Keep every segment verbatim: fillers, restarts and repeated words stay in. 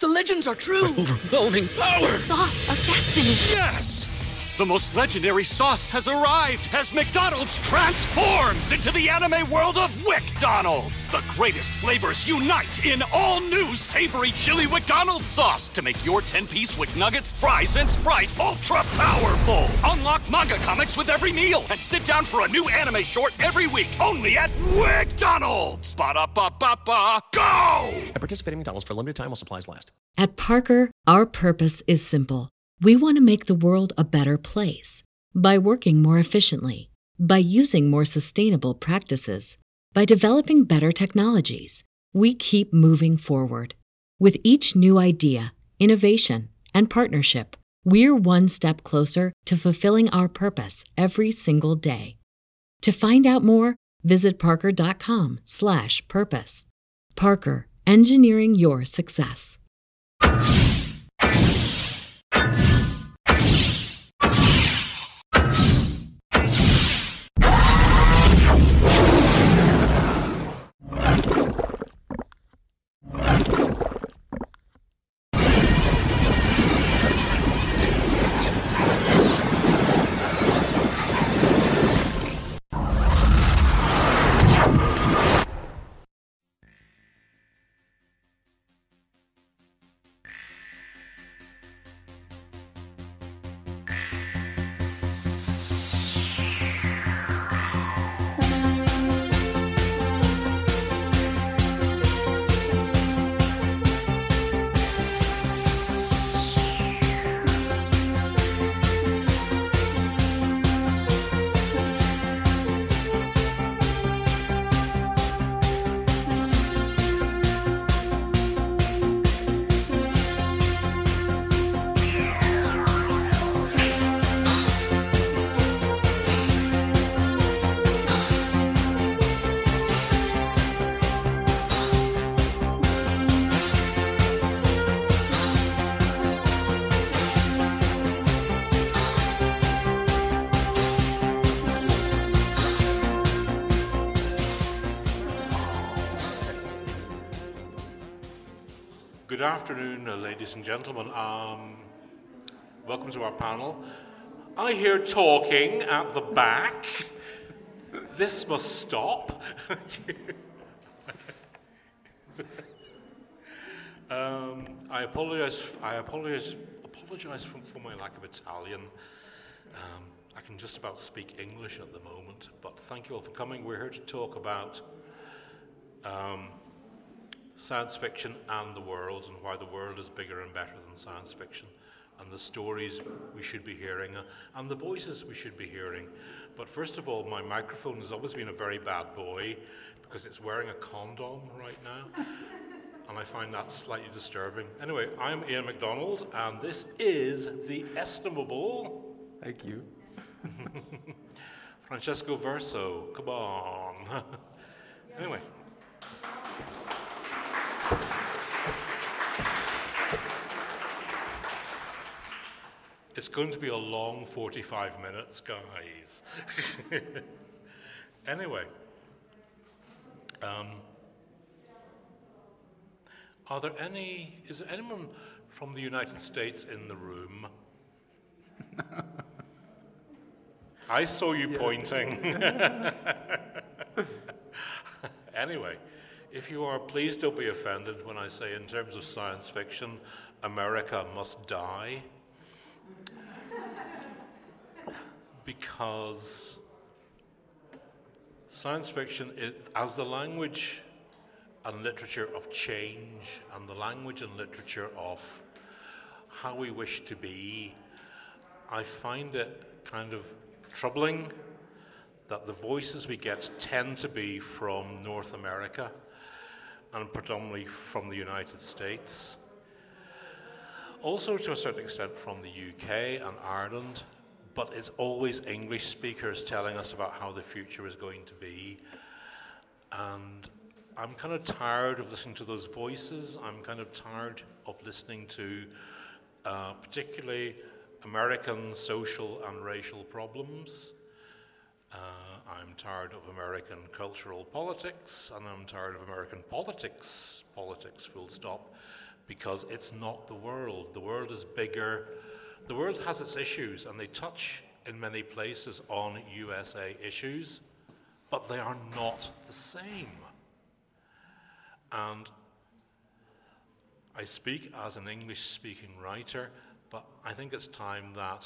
The legends are true. Overwhelming power! Sauce of destiny. Yes! The most legendary sauce has arrived as McDonald's transforms into the anime world of WickDonald's. The greatest flavors unite in all new savory chili McDonald's sauce to make your ten-piece Wick Nuggets, fries, and Sprite ultra-powerful. Unlock manga comics with every meal and sit down for a new anime short every week only at WickDonald's. Ba-da-ba-ba-ba, go! And participate in McDonald's for a limited time while supplies last. At Parker, our purpose is simple. We want to make the world a better place by working more efficiently, by using more sustainable practices, by developing better technologies. We keep moving forward. With each new idea, innovation, and partnership, we're one step closer to fulfilling our purpose every single day. To find out more, visit parker.com slash purpose. Parker, engineering your success. Good afternoon, uh, ladies and gentlemen. Um, welcome to our panel. I hear talking at the back. This must stop. um, I apologize. I apologize. Apologize for, for my lack of Italian. Um, I can just about speak English at the moment, but thank you all for coming. We're here to talk about Um, science fiction and the world, and why the world is bigger and better than science fiction, and the stories we should be hearing, uh, and the voices we should be hearing. But first of all, my microphone has always been a very bad boy because it's wearing a condom right now, and I find that slightly disturbing. Anyway, I'm Ian MacDonald, and this is the estimable... Thank you. Francesco Verso, come on. Anyway. It's going to be a long forty-five minutes, guys. Anyway, um, are there any, is there anyone from the United States in the room? I saw you yeah. pointing. Anyway, if you are, please don't be offended when I say in terms of science fiction, America must die. Because science fiction, is, as the language and literature of change, and the language and literature of how we wish to be, I find it kind of troubling that the voices we get tend to be from North America and predominantly from the United States. Also, to a certain extent, from the U K and Ireland, but it's always English speakers telling us about how the future is going to be. And I'm kind of tired of listening to those voices. I'm kind of tired of listening to uh, particularly American social and racial problems. Uh, I'm tired of American cultural politics, and I'm tired of American politics, politics full stop, because it's not the world. The world is bigger. The world has its issues, and they touch in many places on U S A issues, but they are not the same. And I speak as an English-speaking writer, but I think it's time that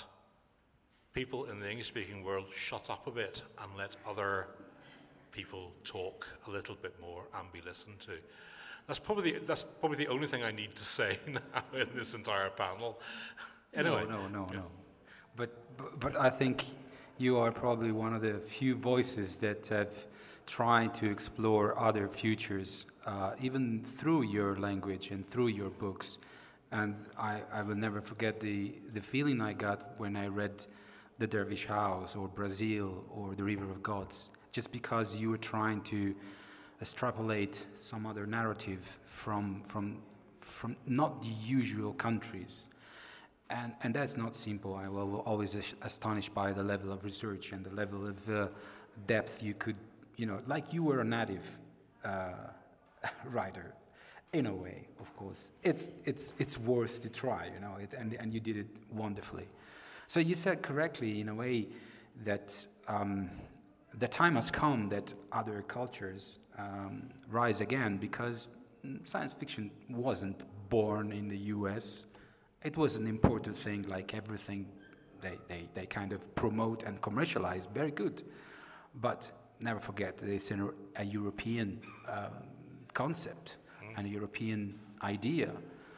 people in the English-speaking world shut up a bit and let other people talk a little bit more and be listened to. That's probably the, that's probably the only thing I need to say now in this entire panel. Anyway, no, no, no, yeah. no. But, but but I think you are probably one of the few voices that have tried to explore other futures, uh, even through your language and through your books. And I, I will never forget the, the feeling I got when I read The Dervish House or Brazil or The River of Gods, just because you were trying to extrapolate some other narrative from from from not the usual countries. And and that's not simple. I was always astonished by the level of research and the level of uh, depth you could, you know, like you were a native uh, writer, in a way, of course. It's it's it's worth to try, you know, it, and and you did it wonderfully. So you said correctly, in a way, that um, the time has come that other cultures um, rise again, because science fiction wasn't born in the U S. It was an important thing, like everything they, they, they kind of promote and commercialize, very good. But never forget that it's an, a European uh, concept, mm. and a European idea.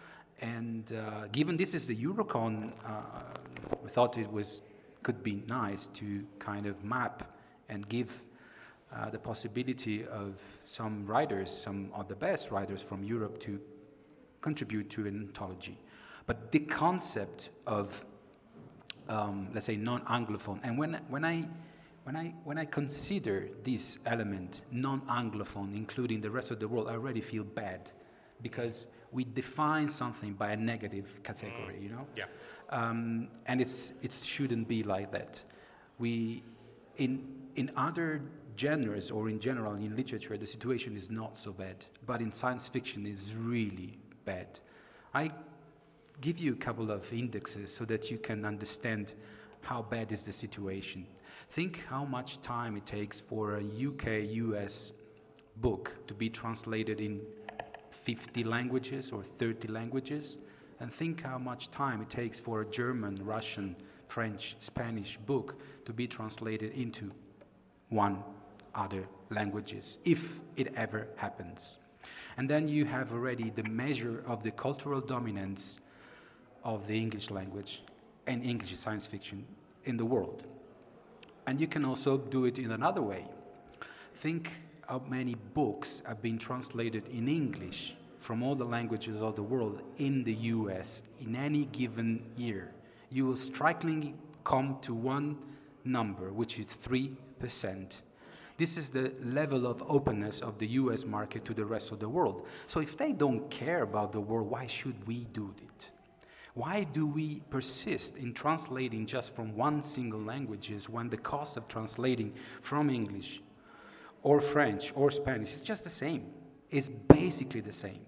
And uh, given this is the Eurocon, uh, we thought it was could be nice to kind of map and give uh, the possibility of some writers, some of the best writers from Europe, to contribute to an anthology. But the concept of, um, let's say, non-Anglophone, and when when I when I when I consider this element, non-Anglophone, including the rest of the world, I already feel bad, because we define something by a negative category, you know. Yeah. Um, and it's it shouldn't be like that. We in in other genres, or in general in literature, the situation is not so bad, but in science fiction is really bad. I give you a couple of indexes so that you can understand how bad is the situation. Think how much time it takes for a U K U S book to be translated in fifty languages or thirty languages, and think how much time it takes for a German, Russian, French, Spanish book to be translated into one other languages, if it ever happens. And then you have already the measure of the cultural dominance of the English language and English science fiction in the world. And you can also do it in another way. Think how many books have been translated in English from all the languages of the world in the U S in any given year. You will strikingly come to one number, which is three percent. This is the level of openness of the U S market to the rest of the world. So if they don't care about the world, why should we do it? Why do we persist in translating just from one single languages when the cost of translating from English or French or Spanish is just the same? It's basically the same.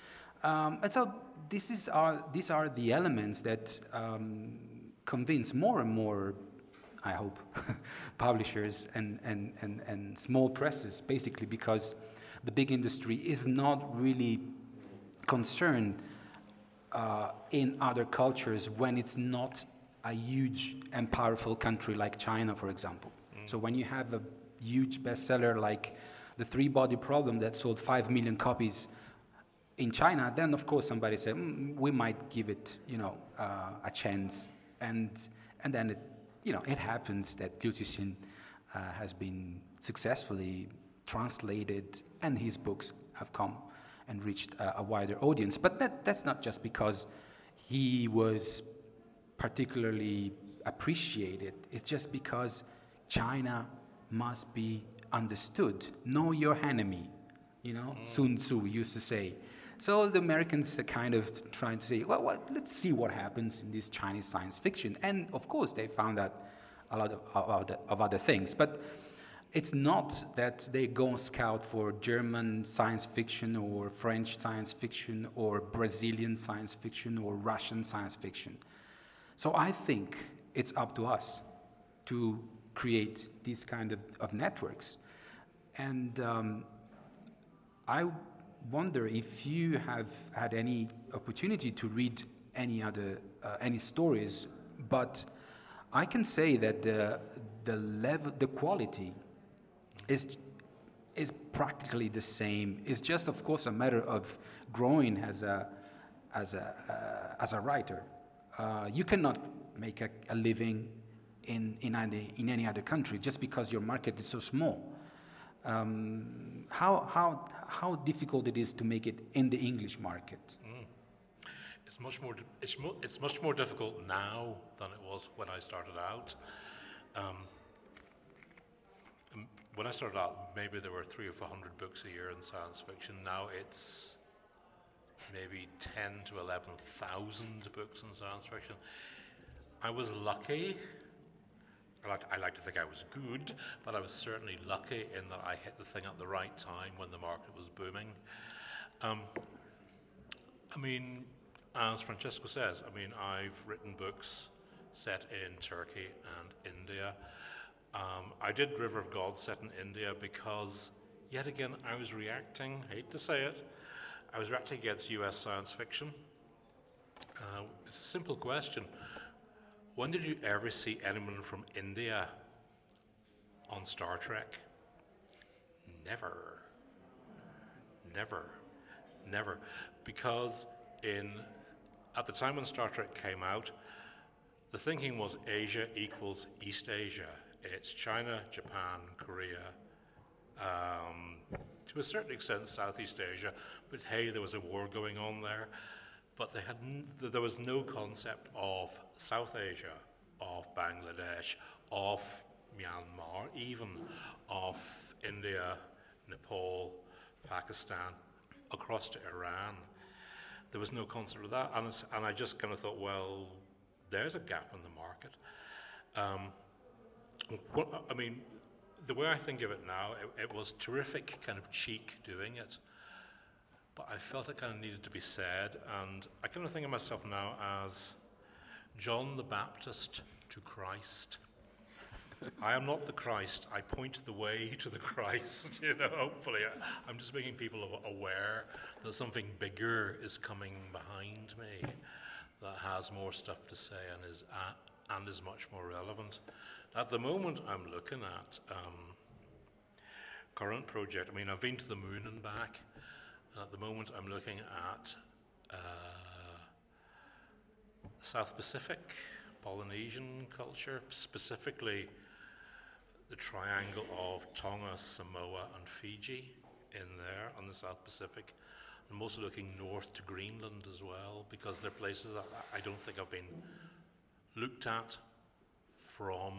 Um, and so this is our, these are the elements that um, convince more and more, I hope, publishers and, and, and, and small presses, basically because the big industry is not really concerned uh, in other cultures when it's not a huge and powerful country like China, for example. Mm. So when you have a huge bestseller like The Three-Body Problem that sold five million copies in China, then of course somebody said, mm, we might give it, you know, uh, a chance. And and then it, you know, it happens that Liu Cixin uh, has been successfully translated, and his books have come and reached a, a wider audience. But that that's not just because he was particularly appreciated. It's just because China must be understood. Know your enemy, you know, mm. Sun Tzu used to say. So the Americans are kind of trying to say, well, well, let's see what happens in this Chinese science fiction. And of course, they found out a lot of, of, other, of other things. But it's not that they go and scout for German science fiction or French science fiction or Brazilian science fiction or Russian science fiction. So I think it's up to us to create these kind of, of networks. And um, I wonder if you have had any opportunity to read any other uh, any stories, but I can say that the the level, the quality is is practically the same. It's just, of course, a matter of growing as a as a uh, as a writer. Uh, you cannot make a, a living in in any, in any other country just because your market is so small. Um, how how how difficult it is to make it in the English market? Mm. It's much more it's mo- it's much more difficult now than it was when I started out. Um, when I started out, maybe there were three or four hundred books a year in science fiction. Now it's maybe ten to eleven thousand books in science fiction. I was lucky. I like, I like to think I was good, but I was certainly lucky in that I hit the thing at the right time when the market was booming. Um, I mean, as Francesco says, I mean, I've written books set in Turkey and India. Um, I did River of God set in India because, yet again, I was reacting, hate to say it, I was reacting against U S science fiction. Uh, it's a simple question. When did you ever see anyone from India on Star Trek? Never. Never. Never. Because in at the time when Star Trek came out, the thinking was Asia equals East Asia. It's China, Japan, Korea, um, to a certain extent Southeast Asia, but hey, there was a war going on there. But they had n- there was no concept of South Asia, of Bangladesh, of Myanmar, even of India, Nepal, Pakistan, across to Iran. There was no concept of that, and, it's, and I just kind of thought, well, there's a gap in the market. Um, what, I mean, the way I think of it now, it, it was terrific kind of cheek doing it. But I felt it kind of needed to be said, and I kind of think of myself now as John the Baptist to Christ. I am not the Christ. I point the way to the Christ. You know, hopefully, I, I'm just making people aware that something bigger is coming behind me that has more stuff to say and is uh, and is much more relevant. At the moment, I'm looking at um, current project. I mean, I've been to the moon and back. At the moment, I'm looking at uh, South Pacific, Polynesian culture, specifically the triangle of Tonga, Samoa, and Fiji in there on the South Pacific. I'm also looking north to Greenland as well, because they're places that I don't think have been looked at from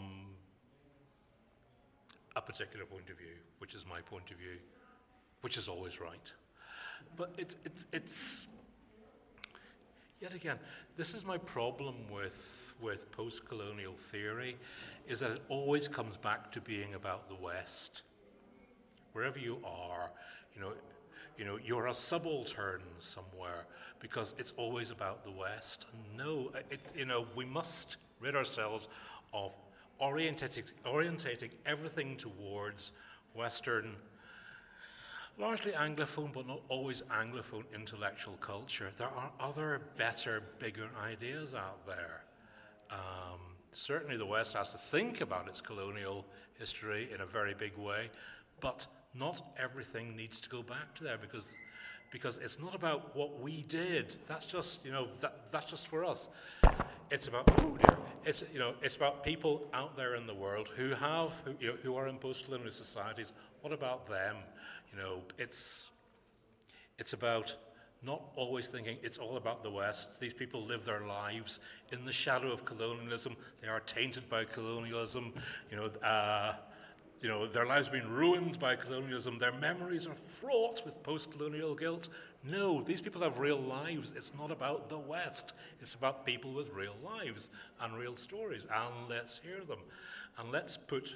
a particular point of view, which is my point of view, which is always right. But it's, it's, it's, yet again, this is my problem with, with post-colonial theory, is that it always comes back to being about the West. Wherever you are, you know, you know, you're a subaltern somewhere because it's always about the West. No, it, you know, we must rid ourselves of orientating, orientating everything towards Western, largely Anglophone, but not always Anglophone intellectual culture. There are other, better, bigger ideas out there. Um, certainly the West has to think about its colonial history in a very big way, but not everything needs to go back to there because because it's not about what we did. That's just, you know, that, that's just for us. It's about, oh dear, it's, you know, it's about people out there in the world who have, who, you know, who are in post-colonial societies. What about them? You know, it's it's about not always thinking it's all about the West. These people live their lives in the shadow of colonialism. They are tainted by colonialism. You know, uh, you know, their lives have been ruined by colonialism. Their memories are fraught with post-colonial guilt. No, these people have real lives. It's not about the West. It's about people with real lives and real stories. And let's hear them. And let's put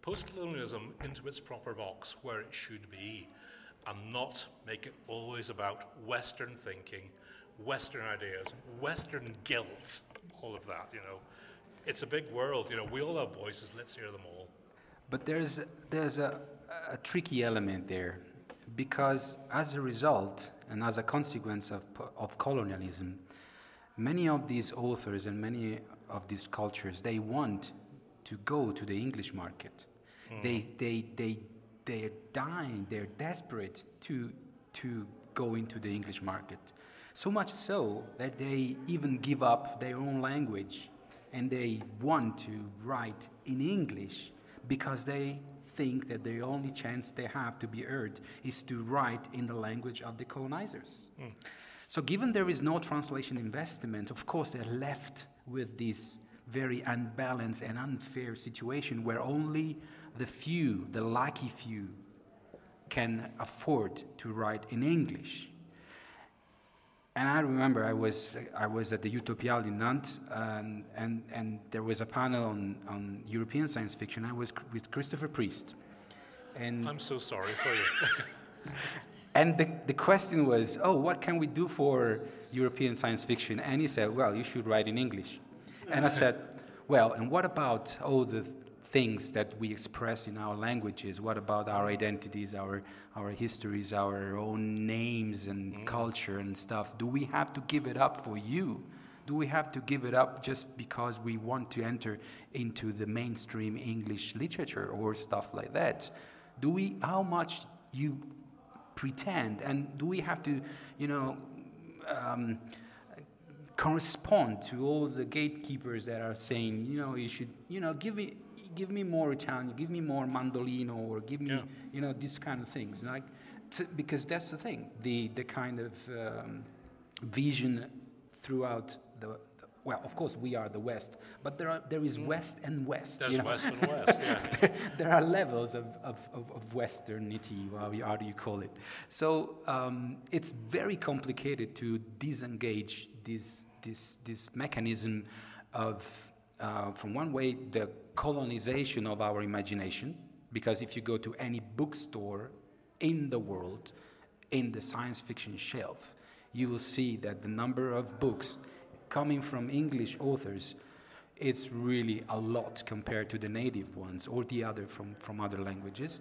post-colonialism into its proper box where it should be, and not make it always about Western thinking, Western ideas, Western guilt, all of that, you know. It's a big world, you know, we all have voices, let's hear them all. But there's, there's a, a tricky element there, because as a result and as a consequence of, of colonialism, many of these authors and many of these cultures, they want to go to the English market. Mm. They, they, they, they're dying, they're desperate to, to go into the English market. So much so that they even give up their own language and they want to write in English because they think that the only chance they have to be heard is to write in the language of the colonizers. Mm. So given there is no translation investment, of course they're left with this very unbalanced and unfair situation where only the few, the lucky few, can afford to write in English. And I remember I was I was at the Utopiale in Nantes, and, and, and there was a panel on, on European science fiction. I was with Christopher Priest. And I'm so sorry for you. And the, the question was, oh, what can we do for European science fiction? And he said, well, you should write in English. And I said, well, and what about all the things that we express in our languages? What about our identities, our our histories, our own names and mm. culture and stuff? Do we have to give it up for you? Do we have to give it up just because we want to enter into the mainstream English literature or stuff like that? Do we, how much you pretend, and do we have to, you know, um, correspond to all the gatekeepers that are saying, you know, you should, you know, give me, give me more Italian, give me more mandolino, or give me, yeah. you know, these kind of things, like, t- because that's the thing, the the kind of um, vision throughout the, the. Well, of course, we are the West, but there are there is West and West. There's you know? West and West, yeah. there, there are levels of of, of, of Westernity, how, how do you call it? So um, it's very complicated to disengage this this this mechanism of, uh, from one way, the colonization of our imagination, because if you go to any bookstore in the world, in the science fiction shelf, you will see that the number of books coming from English authors, it's really a lot compared to the native ones or the other from, from other languages.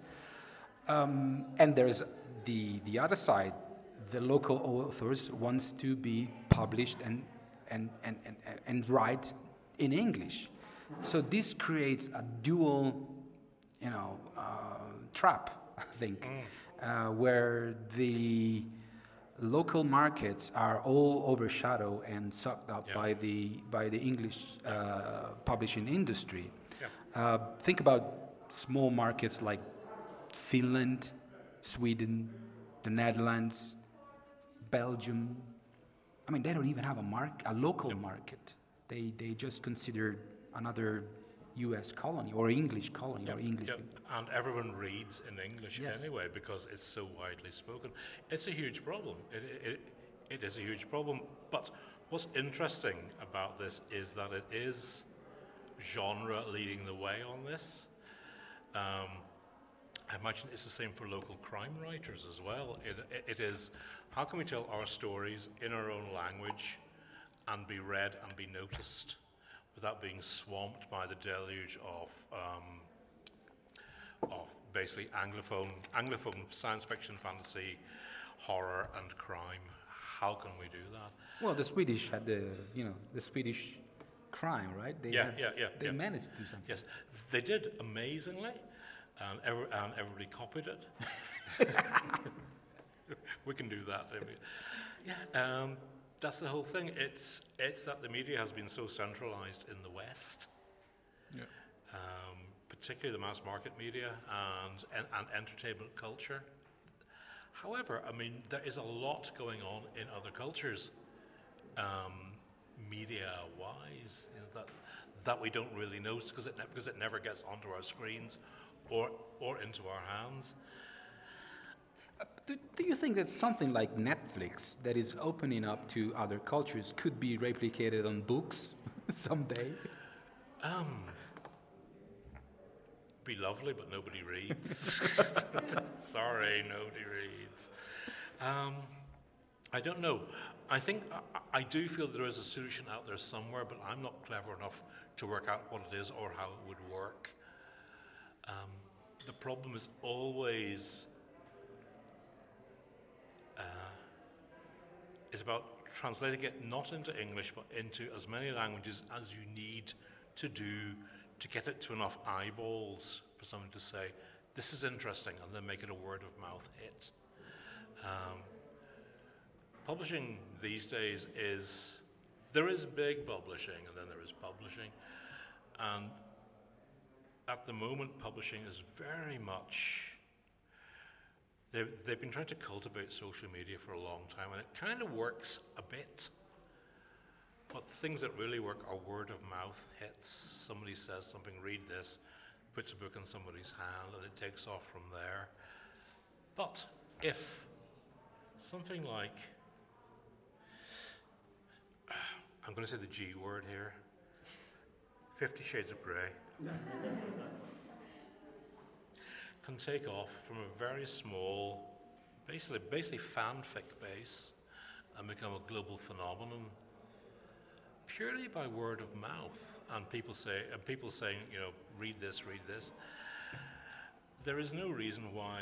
Um, and there's the the other side. The local authors wants to be published and and, and, and, and write in English. So this creates a dual, you know, uh, trap, I think, mm. uh, where the local markets are all overshadowed and sucked up yeah. by the by the English uh, publishing industry. Yeah. Uh, think about small markets like Finland, Sweden, the Netherlands, Belgium. I mean, they don't even have a mark, a local yep. market. They they just consider another U S colony or English colony yep. or English. Yep. And everyone reads in English yes. anyway because it's so widely spoken. It's a huge problem. It, it it is a huge problem. But what's interesting about this is that it is genre leading the way on this. Um, I imagine it's the same for local crime writers as well. It, it, it is, how can we tell our stories in our own language and be read and be noticed without being swamped by the deluge of um, of basically anglophone, anglophone science fiction, fantasy, horror, and crime? How can we do that? Well, the Swedish had the, you know, the Swedish crime, right? They yeah, had, yeah, yeah. They yeah. managed to do something. Yes, they did amazingly. And, every, and everybody copied it. We can do that. Yeah, um, that's the whole thing. It's it's that the media has been so centralized in the West, yeah. um, particularly the mass market media and, and and entertainment culture. However, I mean, there is a lot going on in other cultures, um, media-wise, you know, that that we don't really notice because it ne- because it never gets onto our screens. Or, or into our hands. Uh, do, do you think that something like Netflix that is opening up to other cultures could be replicated on books someday? Um, be lovely, but nobody reads. Sorry, nobody reads. Um, I don't know. I think I, I do feel there is a solution out there somewhere, but I'm not clever enough to work out what it is or how it would work. Um, the problem is always uh, is about translating it not into English, but into as many languages as you need to do to get it to enough eyeballs for someone to say, this is interesting, and then make it a word-of-mouth hit. Um, publishing these days is, there is big publishing, and then there is publishing. And at the moment, publishing is very much, they've, they've been trying to cultivate social media for a long time, and it kind of works a bit. But the things that really work are word-of-mouth hits. Somebody says something, read this, puts a book in somebody's hand, and it takes off from there. But if something like, I'm going to say the G word here, Fifty Shades of Grey, can take off from a very small, basically, basically fanfic base and become a global phenomenon purely by word of mouth, and people say, and people saying, you know, read this, read this. There is no reason why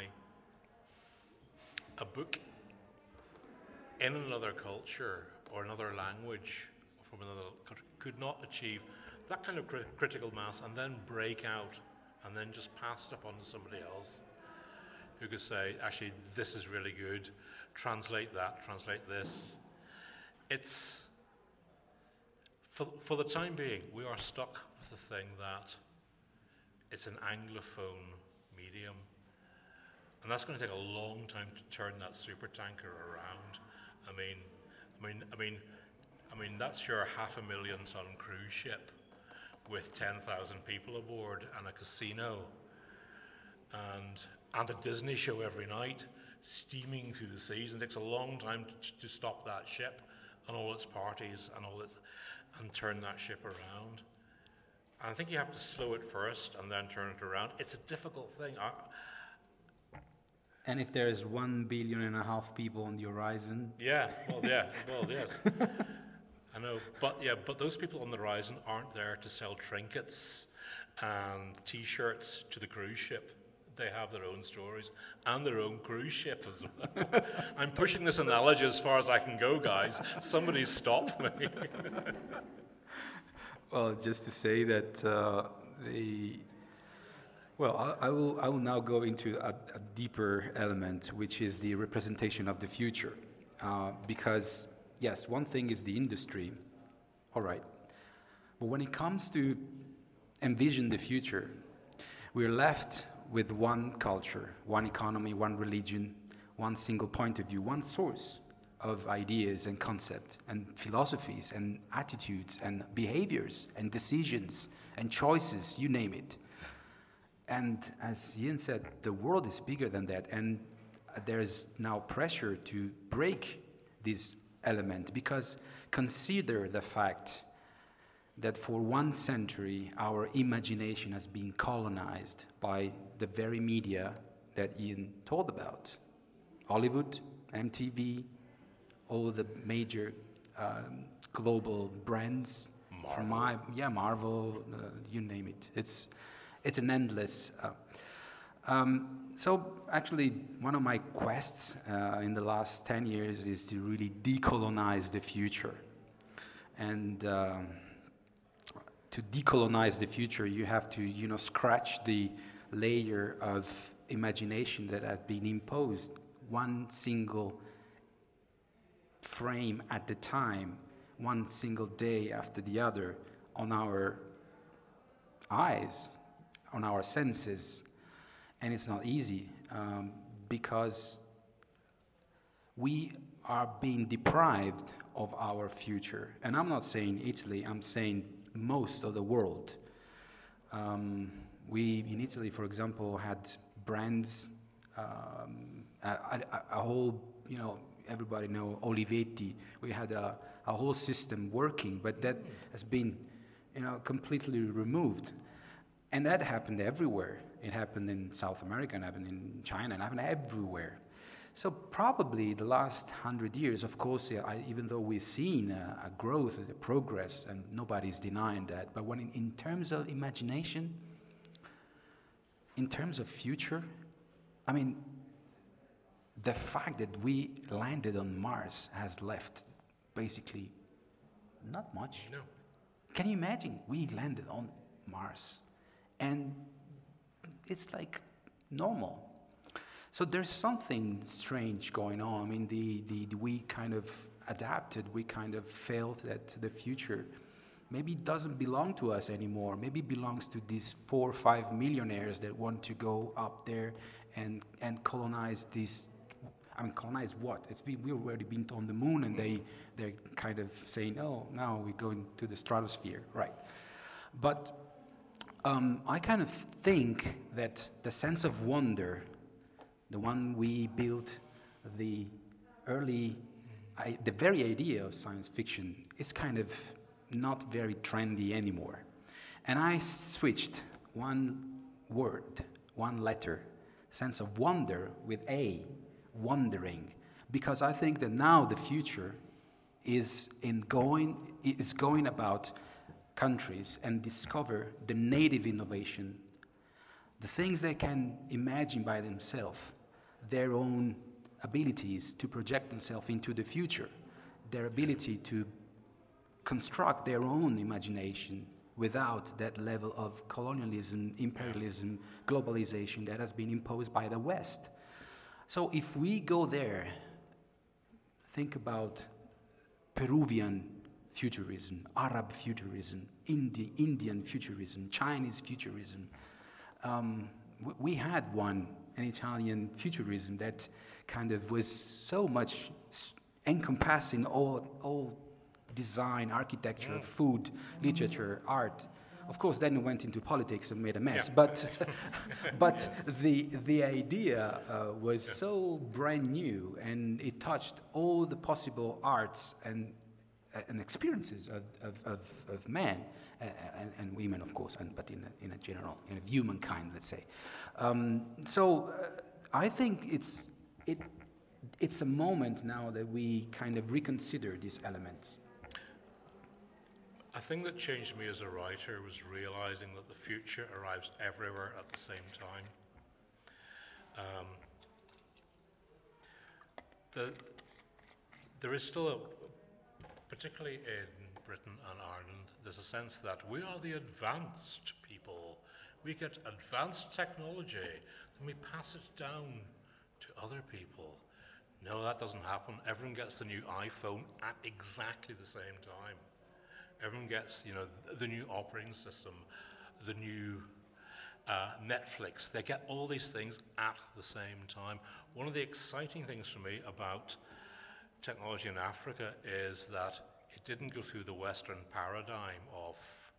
a book in another culture or another language or from another country could not achieve that kind of crit- critical mass and then break out and then just pass it up on to somebody else who could say, actually, this is really good, translate that, translate this. It's, for, for the time being, we are stuck with the thing that it's an Anglophone medium. And that's going to take a long time to turn that supertanker around. I mean, I mean, I mean, I mean, that's your half a million ton cruise ship with ten thousand people aboard and a casino and and a Disney show every night, steaming through the seas. And it takes a long time to, to stop that ship and all its parties and all its, and turn that ship around. And I think you have to slow it first and then turn it around. It's a difficult thing. I, And if there's one billion and a half people on the horizon, Yeah, well, yeah, well, yes. I know, but yeah, but those people on the horizon aren't there to sell trinkets and T-shirts to the cruise ship. They have their own stories and their own cruise ship as well. I'm pushing this analogy as far as I can go, guys. Somebody stop me. well, just to say that uh, the well, I, I will I will now go into a, a deeper element, which is the representation of the future, uh, because yes, one thing is the industry, all right, but when it comes to envision the future, we're left with one culture, one economy, one religion, one single point of view, one source of ideas and concepts and philosophies and attitudes and behaviors and decisions and choices, you name it. And as Ian said, the world is bigger than that, and there's now pressure to break this element, because consider the fact that for one century our imagination has been colonized by the very media that Ian told about. Hollywood, M T V, all the major um, global brands. Marvel. From my, yeah, Marvel, uh, you name it. It's it's an endless. Uh, um, so actually, one of my quests uh, in the last ten years is to really decolonize the future. And um, to decolonize the future, you have to, you know, scratch the layer of imagination that has been imposed one single frame at the time, one single day after the other, on our eyes, on our senses. And it's not easy, um, because we are being deprived of our future. And I'm not saying Italy, I'm saying most of the world. Um, we, in Italy, for example, had brands, um, a, a, a whole, you know, everybody know Olivetti. We had a, a whole system working, but that has been, you know, completely removed. And that happened everywhere. It happened in South America, it happened in China, it happened everywhere. So probably the last hundred years, of course, yeah, I, even though we've seen a, a growth, a progress, and nobody's denying that, but when in, in terms of imagination, in terms of future, I mean, the fact that we landed on Mars has left basically not much. No. Can you imagine? We landed on Mars, and it's like normal. So there's something strange going on. I mean, the, the, the we kind of adapted, we kind of felt that the future maybe doesn't belong to us anymore. Maybe it belongs to these four or five millionaires that want to go up there and and colonize this. I mean, colonize what? It's been, we've already been on the moon, and they, they're kind of saying, oh, now we're going to the stratosphere, right? But um, I kind of think that the sense of wonder, the one we built, the early, I, the very idea of science fiction is kind of not very trendy anymore. And I switched one word, one letter, sense of wonder with A, wondering, because I think that now the future is in going is going about countries and discover the native innovation, the things they can imagine by themselves, their own abilities to project themselves into the future, their ability to construct their own imagination without that level of colonialism, imperialism, globalization that has been imposed by the West. So if we go there, think about Peruvian futurism, Arab futurism, Indi- Indian futurism, Chinese futurism. Um, w- we had one, an Italian futurism that kind of was so much s- encompassing all, all design, architecture, mm. food, literature, mm. art. Of course, then it went into politics and made a mess. Yeah. But, but yes. the the idea uh, was yeah. so brand new, and it touched all the possible arts and uh, and experiences of of, of, of men uh, and, and women, of course, and but in a, in a general, in a humankind, let's say. Um, so uh, I think it's it it's a moment now that we kind of reconsider these elements. A thing that changed me as a writer was realizing that the future arrives everywhere at the same time. Um, the, there is still, a, particularly in Britain and Ireland, there's a sense that we are the advanced people. We get advanced technology, then we pass it down to other people. No, that doesn't happen. Everyone gets the new iPhone at exactly the same time. Everyone gets, you know, the new operating system, the new uh, Netflix. They get all these things at the same time. One of the exciting things for me about technology in Africa is that it didn't go through the Western paradigm of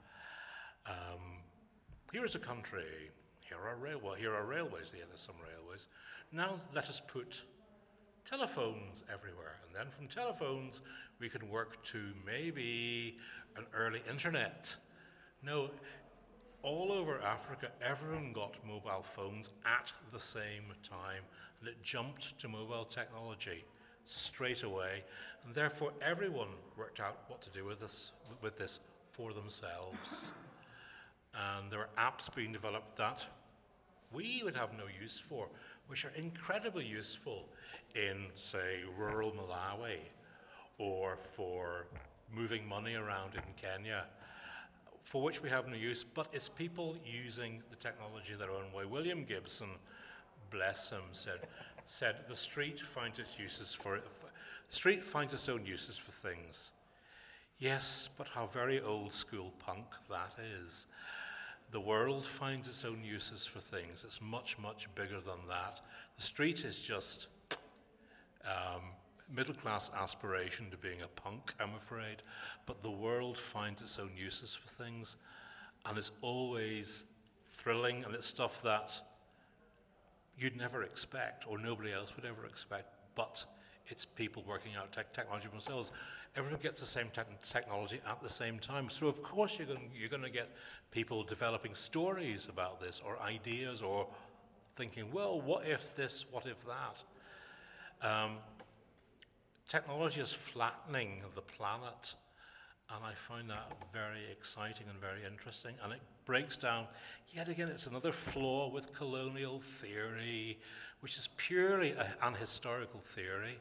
um, here is a country, here are railways, here are railways, yeah, there's some railways. Now let us put telephones everywhere, and then from telephones we can work to maybe an early internet. No, all over Africa, everyone got mobile phones at the same time, and it jumped to mobile technology straight away, and therefore everyone worked out what to do with this, with this for themselves. And there are apps being developed that we would have no use for, which are incredibly useful in, say, rural Malawi, or for moving money around in Kenya, for which we have no use, but it's people using the technology their own way. William Gibson, bless him, said, said the street finds its uses for, the street finds its own uses for things. Yes, but how very old school punk that is. The world finds its own uses for things. It's much, much bigger than that. The street is just um, middle-class aspiration to being a punk, I'm afraid, but the world finds its own uses for things, and it's always thrilling, and it's stuff that you'd never expect, or nobody else would ever expect, but it's people working out tech technology themselves. Everyone gets the same te- technology at the same time. So of course you're going you're going to get people developing stories about this, or ideas, or thinking, well, what if this, what if that? Um, technology is flattening the planet, and I find that very exciting and very interesting. And it breaks down, yet again, it's another flaw with colonial theory, which is purely a, an historical theory.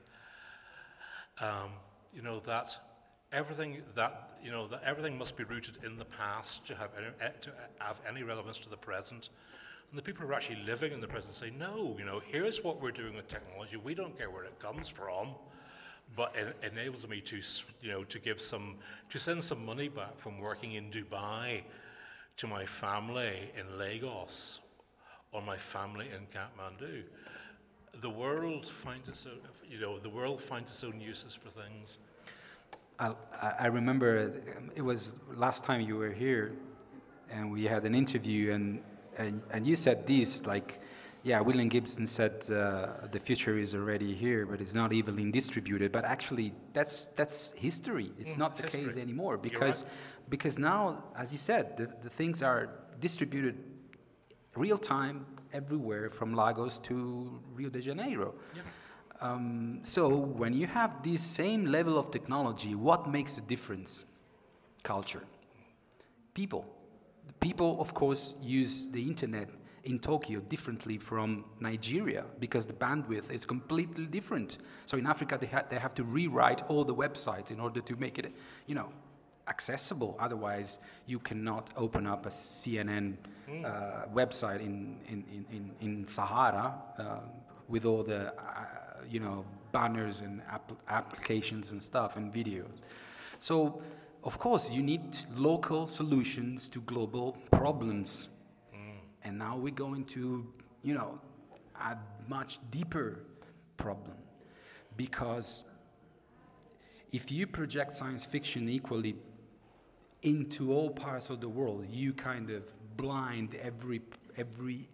Um, you know that everything that you know that everything must be rooted in the past to have any, to have any relevance to the present. And the people who are actually living in the present say, no, you know, here's what we're doing with technology. We don't care where it comes from, but it enables me to, you know, to give some, to send some money back from working in Dubai to my family in Lagos or my family in Kathmandu. The world finds its own, you know, the world finds its own uses for things. I, I remember it was last time you were here, and we had an interview, and and, and you said this, like, yeah, William Gibson said uh, the future is already here, but it's not evenly distributed. But actually, that's that's history. It's mm, not the history. case anymore, because right. because now, as you said, the, the things are distributed real time everywhere, from Lagos to Rio de Janeiro. Yep. Um, so when you have this same level of technology, what makes the difference? Culture. People. The people, of course, use the internet in Tokyo differently from Nigeria, because the bandwidth is completely different. So in Africa, they, ha- they have to rewrite all the websites in order to make it, you know, accessible. Otherwise, you cannot open up a C N N mm. uh, website in, in, in, in Sahara uh, with all the, uh, you know, banners and app- applications and stuff and videos. So, of course, you need local solutions to global problems. Mm. And now we're going to, you know, a much deeper problem. Because if you project science fiction equally into all parts of the world, you kind of blind every every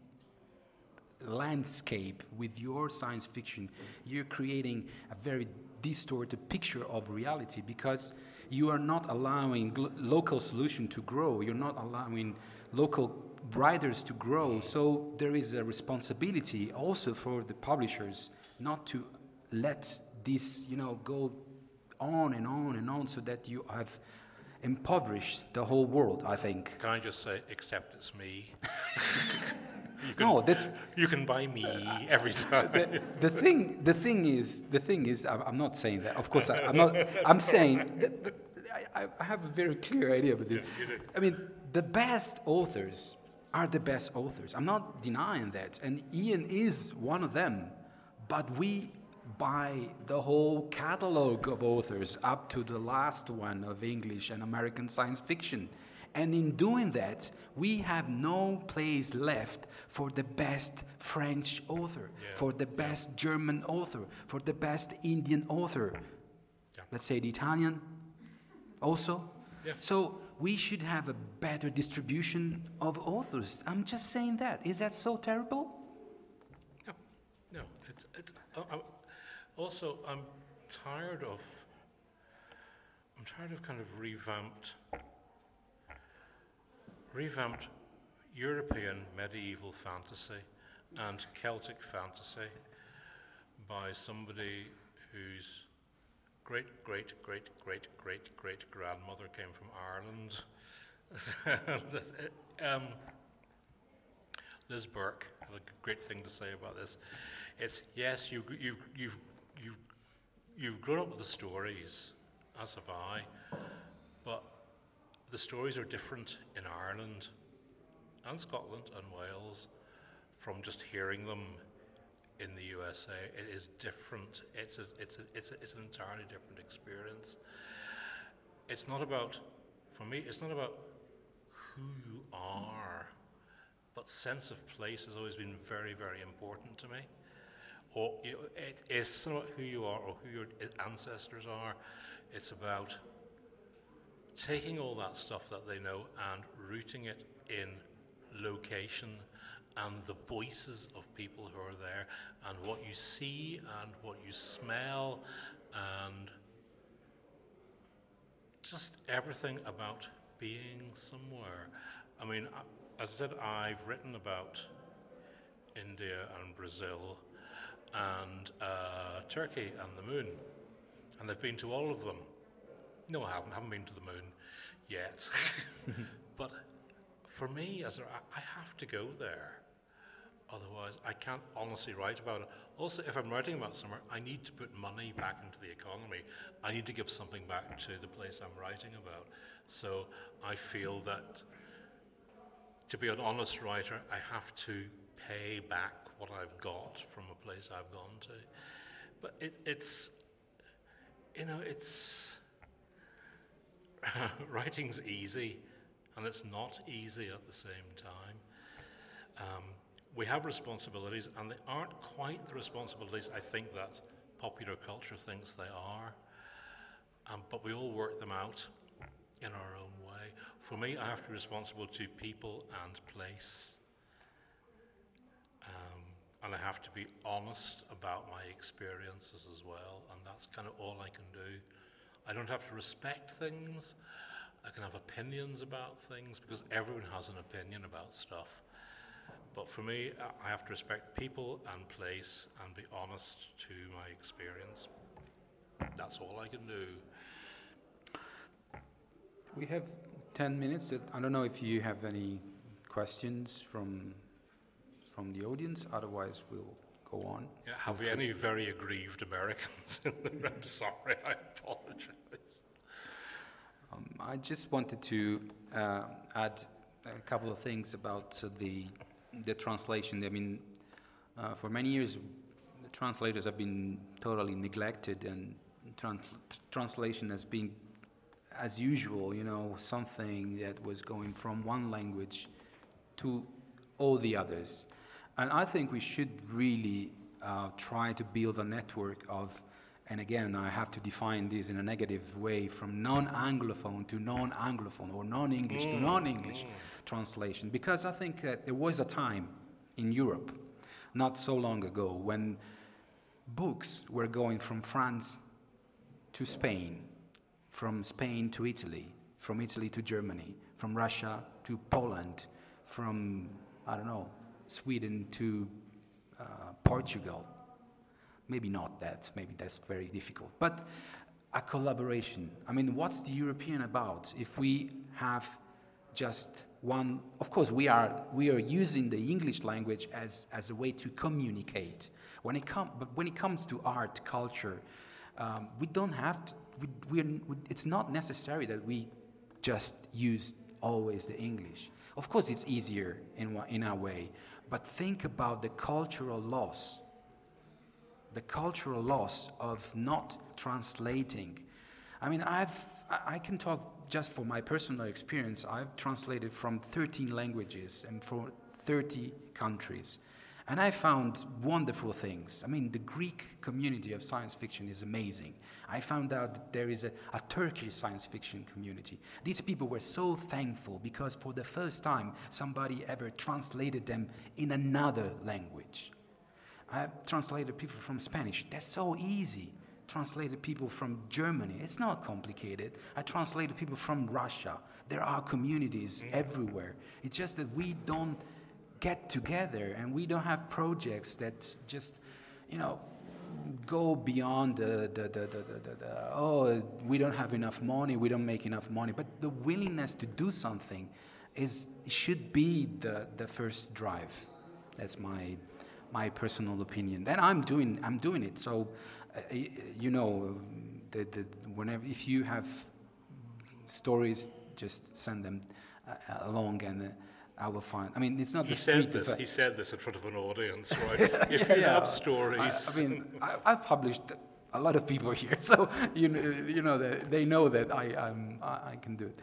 landscape with your science fiction. You're creating a very distorted picture of reality, because you are not allowing gl- local solution to grow. You're not allowing local writers to grow. So there is a responsibility also for the publishers not to let this, you know, go on and on and on, so that you have impoverished the whole world, I think. Can I just say, except it's me? You can, no, that's you can buy me every time. The, the thing, the thing is, the thing is, I'm not saying that. Of course, I, I'm not. I'm saying that, that I, I have a very clear idea of it. Yeah, I mean, the best authors are the best authors. I'm not denying that, and Ian is one of them. But we buy the whole catalog of authors up to the last one of English and American science fiction. And in doing that, we have no place left for the best French author, yeah. for the best yeah. German author, for the best Indian author. Yeah. Let's say the Italian also. Yeah. So we should have a better distribution of authors. I'm just saying that. Is that so terrible? No. No. It's, it's, uh, uh, also, I'm tired of, I'm tired of kind of revamped revamped European medieval fantasy and Celtic fantasy by somebody whose great, great, great, great, great, great grandmother came from Ireland. um, Liz Burke had a great thing to say about this. It's, yes, you, you, you've, you've, you've grown up with the stories, as have I, but the stories are different in Ireland and Scotland and Wales from just hearing them in the U S A. It is different. It's a, it's a, it's a, it's an entirely different experience. It's not about, for me, it's not about who you are, but sense of place has always been very, very important to me. Or you know, it is not about who you are or who your ancestors are. It's about taking all that stuff that they know and rooting it in location and the voices of people who are there, and what you see and what you smell, and just everything about being somewhere. I mean, as I said, I've written about India and Brazil and uh, Turkey and the moon, and I've been to all of them. No, I haven't. I haven't been to the moon yet. But for me, as a, I have to go there. Otherwise, I can't honestly write about it. Also, if I'm writing about somewhere, I need to put money back into the economy. I need to give something back to the place I'm writing about. So I feel that to be an honest writer, I have to pay back what I've got from a place I've gone to. But it, it's, you know, it's, writing's easy, and it's not easy at the same time. Um, we have responsibilities, and they aren't quite the responsibilities I think that popular culture thinks they are, um, but we all work them out in our own way. For me, I have to be responsible to people and place, um, and I have to be honest about my experiences as well, and that's kind of all I can do. I don't have to respect things. I can have opinions about things, because everyone has an opinion about stuff. But for me, I have to respect people and place and be honest to my experience. That's all I can do. We have ten minutes. I don't know if you have any questions from from the audience. Otherwise, we'll go on. Yeah, have we any very aggrieved Americans in the room? I'm sorry, I apologize. Um, I just wanted to uh, add a couple of things about uh, the the translation. I mean, uh, for many years, the translators have been totally neglected, and trans- translation has been, as usual, you know, something that was going from one language to all the others. And I think we should really uh, try to build a network of, and again, I have to define this in a negative way, from non-Anglophone to non-Anglophone, or non-English mm. to non-English mm. translation. Because I think that there was a time in Europe, not so long ago, when books were going from France to Spain, from Spain to Italy, from Italy to Germany, from Russia to Poland, from, I don't know, Sweden to uh, Portugal. Maybe not that, maybe that's very difficult. But a collaboration. I mean, what's the European about if we have just one? Of course, we are we are using the English language as, as a way to communicate. When it com- but when it comes to art, culture, um, we don't have to, we, we're, we, it's not necessary that we just use always the English. Of course, it's easier in, in a way, but think about the cultural loss. The cultural loss of not translating. I mean, I've I can talk just for my personal experience. I've translated from thirteen languages and for thirty countries. And I found wonderful things. I mean, the Greek community of science fiction is amazing. I found out that there is a, a Turkish science fiction community. These people were so thankful because for the first time somebody ever translated them in another language. I translated people from Spanish. That's so easy. Translated people from Germany. It's not complicated. I translated people from Russia. There are communities everywhere. It's just that we don't get together and we don't have projects that just, you know, go beyond the, the, the, the, the, the oh, we don't have enough money, we don't make enough money. But the willingness to do something is should be the, the first drive. That's my my personal opinion. And I'm doing I'm doing it. So, uh, you know, the, the, whenever if you have stories, just send them uh, along, and uh, I will find. I mean, it's not he the street. Said this, I, he said this in front of an audience, right? If yeah, you yeah. have stories. I, I mean, I, I've published a lot of people here, so you know, you know that they know that I um, I, I can do it.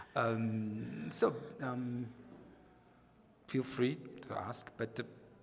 Um, so um, feel free to ask, but. Uh,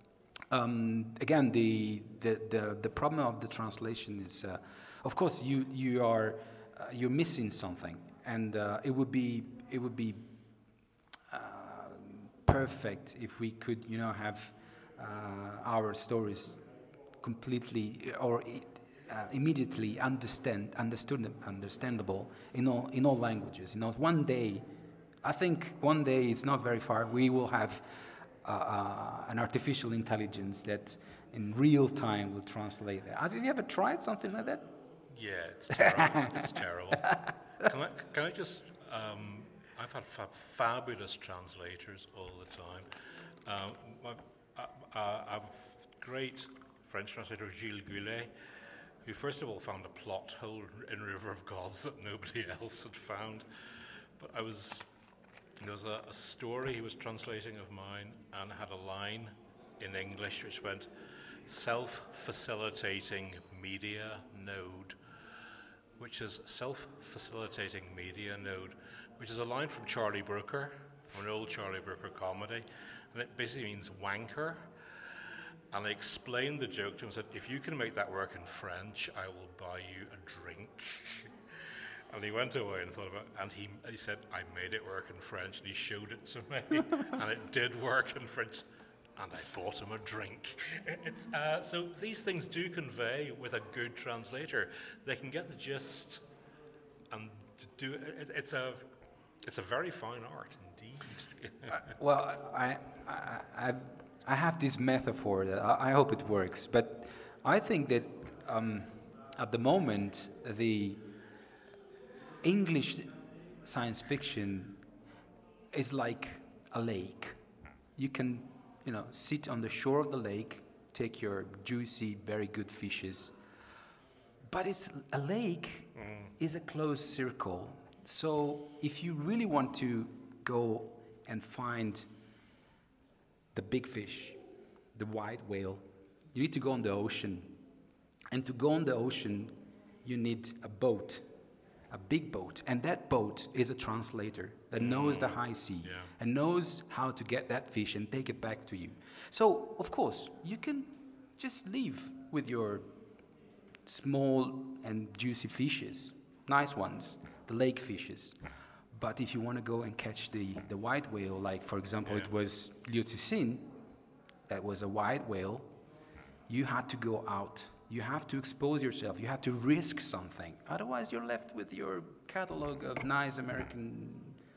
Um, again, the, the, the, the problem of the translation is, uh, of course, you you are uh, you're missing something, and uh, it would be it would be uh, perfect if we could, you know, have uh, our stories completely or uh, immediately understand, understood, understandable in all in all languages. You know, one day, I think one day it's not very far. We will have uh, uh, an artificial intelligence that, in real time, will translate that. Have you ever tried something like that? Yeah, it's terrible. it's, it's terrible. Can I, can I just? Um, I've had fa- fabulous translators all the time. Uh, my, uh, uh, I've great French translator Gilles Goulet, who first of all found a plot hole in River of Gods that nobody else had found. But I was there was a, a story he was translating of mine, and it had a line in English which went, "Self-facilitating media node," which is self-facilitating media node, which is a line from Charlie Brooker, from an old Charlie Brooker comedy, and it basically means wanker. And I explained the joke to him and said, if you can make that work in French, I will buy you a drink. And he went away and thought about it, and he, he said, I made it work in French, and he showed it to me, and it did work in French, and I bought him a drink. It's, uh, so these things do convey with a good translator. They can get the gist, and to do it, it's a it's a very fine art indeed. uh, well, I, I I I have this metaphor that I, I hope it works, but I think that um, at the moment the English science fiction is like a lake. You can, you know, sit on the shore of the lake, take your juicy, very good fishes. But it's a lake mm. is a closed circle. So if you really want to go and find the big fish, the white whale, you need to go on the ocean. And to go on the ocean, you need a boat, a big boat. And that boat is a translator that knows the high sea yeah. and knows how to get that fish and take it back to you. So, of course, you can just leave with your small and juicy fishes, nice ones, the lake fishes. But if you want to go and catch the, the white whale, like, for example, yeah. it was Liu Cixin, that was a white whale, you had to go out. You have to expose yourself. You have to risk something. Otherwise, you're left with your catalog of nice American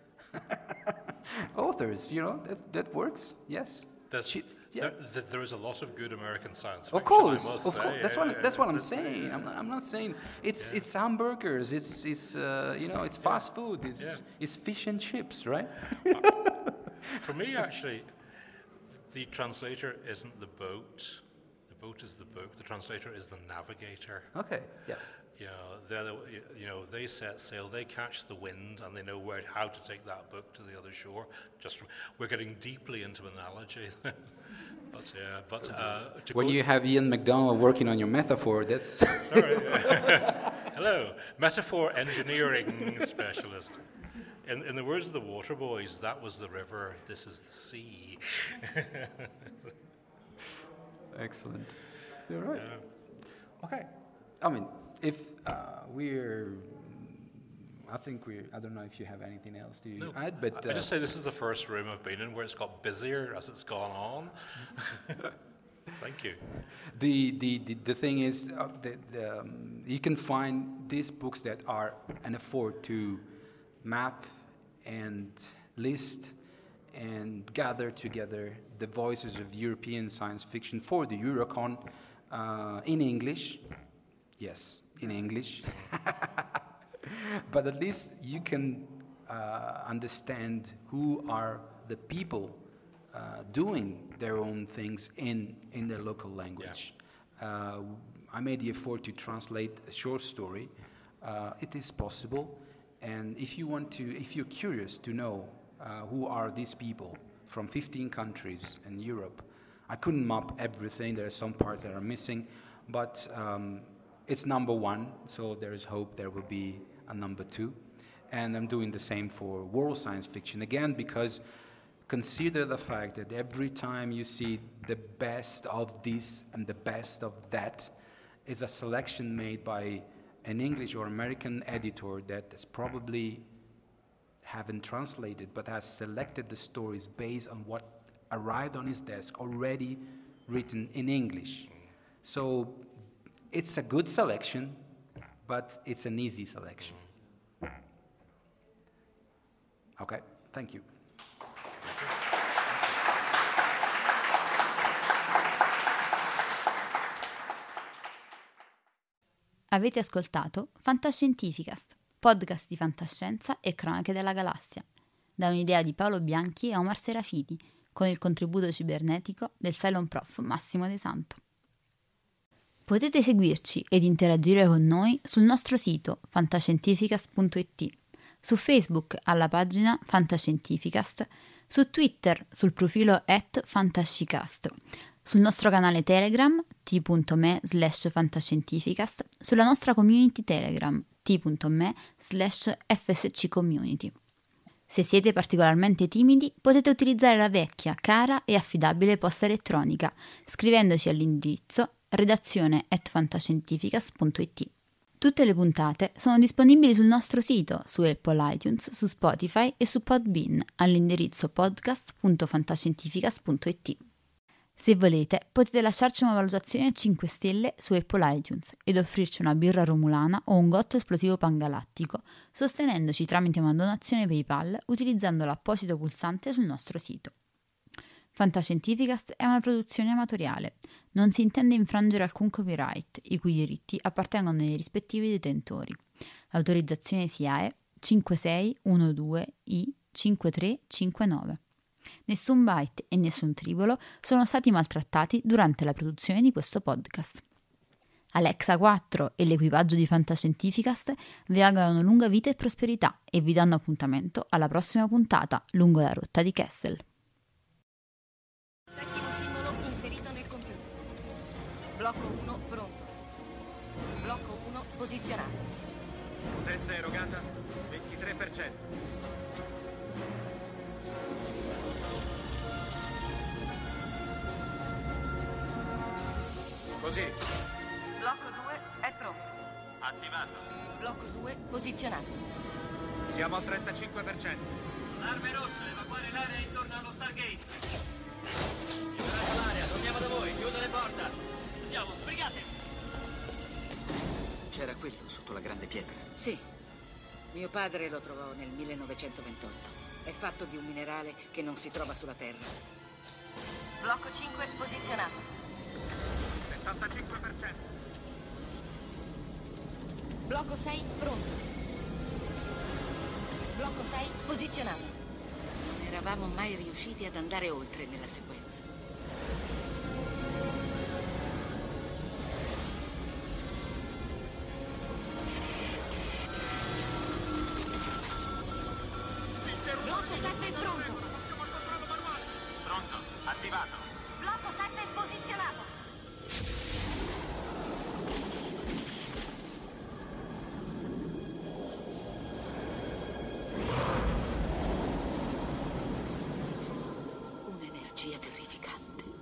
authors. You know, that, that works, yes. She, yeah. there, there is a lot of good American science fiction. Of course, I must of say. course. That's yeah, what yeah, that's yeah, what I'm that's, saying. yeah. I'm not, I'm not saying it's yeah. it's hamburgers. It's it's uh, you know it's fast yeah. food. It's yeah. it's fish and chips, right? uh, for me, actually, the translator isn't the boat. The boat is the book. The translator is the navigator. Okay. Yeah. You know, they're the, you know, they set sail, they catch the wind, and they know where how to take that book to the other shore. Just from, we're getting deeply into analogy, but yeah, but uh, to when go, you have Ian McDonald working on your metaphor, that's sorry. Hello, metaphor engineering specialist. In, in the words of the Water Boys, that was the river. This is the sea. Excellent. You're right. Yeah. Okay. I mean, if uh, we're, I think we. I don't know if you have anything else to no, add, but I, uh, I just say this is the first room I've been in where it's got busier as it's gone on. Thank you. The the, the, the thing is, uh, the, the, um, you can find these books that are an effort to map and list and gather together the voices of European science fiction for the Eurocon uh, in English. Yes, in English. But at least you can uh, understand who are the people uh, doing their own things in, in their local language. Yeah. Uh, I made the effort to translate a short story. Uh, it is possible. And if you want to, if you're curious to know uh, who are these people from fifteen countries in Europe, I couldn't map everything. There are some parts that are missing, but um, it's number one, so there is hope there will be a number two. And I'm doing the same for world science fiction, again, because consider the fact that every time you see the best of this and the best of that is a selection made by an English or American editor that has probably haven't translated, but has selected the stories based on what arrived on his desk already written in English. So it's a good selection, but it's an easy selection. Okay, thank you. Avete ascoltato Fantascientificast, podcast di fantascienza e cronache della galassia, da un'idea di Paolo Bianchi e Omar Serafiti, con il contributo cibernetico del Cylon Prof Massimo De Santo. Potete seguirci ed interagire con noi sul nostro sito fantascientificast punto it, su Facebook alla pagina Fantascientificast, su Twitter sul profilo at fantascicast, sul nostro canale Telegram t.me slash fantascientificast, sulla nostra community Telegram t.me slash fsccommunity. Se siete particolarmente timidi, potete utilizzare la vecchia, cara e affidabile posta elettronica, scrivendoci all'indirizzo redazione at fantascientificast punto it. Tutte le puntate sono disponibili sul nostro sito, su Apple iTunes, su Spotify e su Podbean, all'indirizzo podcast punto fantascientificast punto it. Se volete, potete lasciarci una valutazione a cinque stelle su Apple iTunes ed offrirci una birra romulana o un gotto esplosivo pangalattico, sostenendoci tramite una donazione PayPal utilizzando l'apposito pulsante sul nostro sito. Fantascientificast è una produzione amatoriale. Non si intende infrangere alcun copyright, i cui diritti appartengono ai rispettivi detentori. L'autorizzazione S I A E cinque sei uno due I cinque tre cinque nove. Nessun byte e nessun tribolo sono stati maltrattati durante la produzione di questo podcast. Alexa quattro e l'equipaggio di Fantascientificast vi augurano lunga vita e prosperità e vi danno appuntamento alla prossima puntata lungo la rotta di Kessel. Settimo simbolo inserito nel computer. Blocco uno pronto. Blocco uno posizionato. Potenza erogata ventitré per cento. Così. Blocco due è pronto. Attivato. Blocco due posizionato. Siamo al trentacinque per cento. Arme rosse, evacuare l'area intorno allo Stargate. Liberate l'area, torniamo da voi, chiudo le porte. Andiamo, sbrigate. C'era quello sotto la grande pietra? Sì. Mio padre lo trovò nel millenovecentoventotto. È fatto di un minerale che non si trova sulla Terra. Blocco cinque posizionato. settantacinque per cento. Blocco sei pronto. Blocco sei posizionato. Non eravamo mai riusciti ad andare oltre nella sequenza. Blocco sette pronto. Pronto, attivato. Blocco sette posizionato. Un'energia terrificante.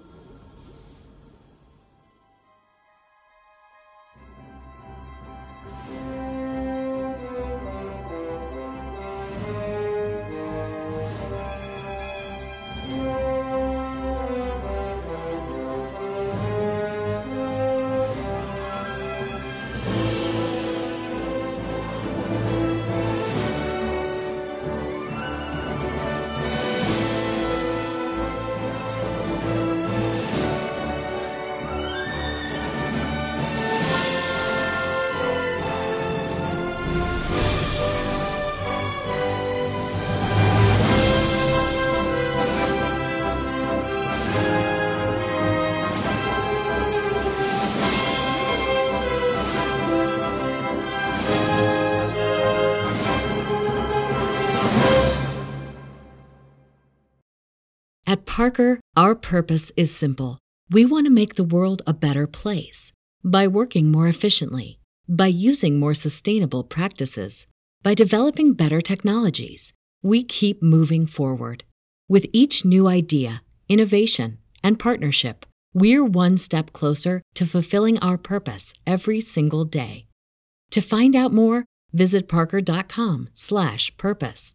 At Parker, our purpose is simple. We want to make the world a better place by working more efficiently, by using more sustainable practices, by developing better technologies. We keep moving forward. With each new idea, innovation, and partnership, we're one step closer to fulfilling our purpose every single day. To find out more, visit parker dot com slash purpose.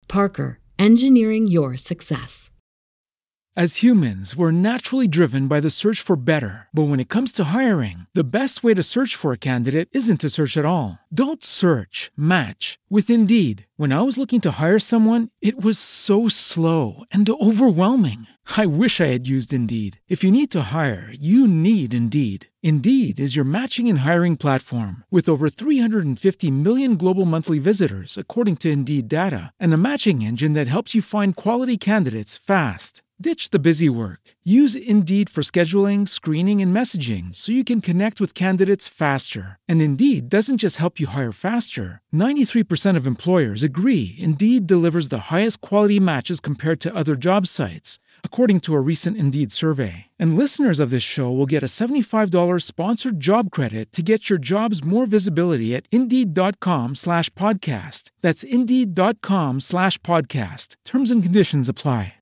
Parker, engineering your success. As humans, we're naturally driven by the search for better. But when it comes to hiring, the best way to search for a candidate isn't to search at all. Don't search, match with Indeed. When I was looking to hire someone, it was so slow and overwhelming. I wish I had used Indeed. If you need to hire, you need Indeed. Indeed is your matching and hiring platform with over three hundred fifty million global monthly visitors, according to Indeed data, and a matching engine that helps you find quality candidates fast. Ditch the busy work. Use Indeed for scheduling, screening, and messaging so you can connect with candidates faster. And Indeed doesn't just help you hire faster. ninety-three percent of employers agree Indeed delivers the highest quality matches compared to other job sites, according to a recent Indeed survey. And listeners of this show will get a seventy-five dollars sponsored job credit to get your jobs more visibility at Indeed.com slash podcast. That's Indeed.com slash podcast. Terms and conditions apply.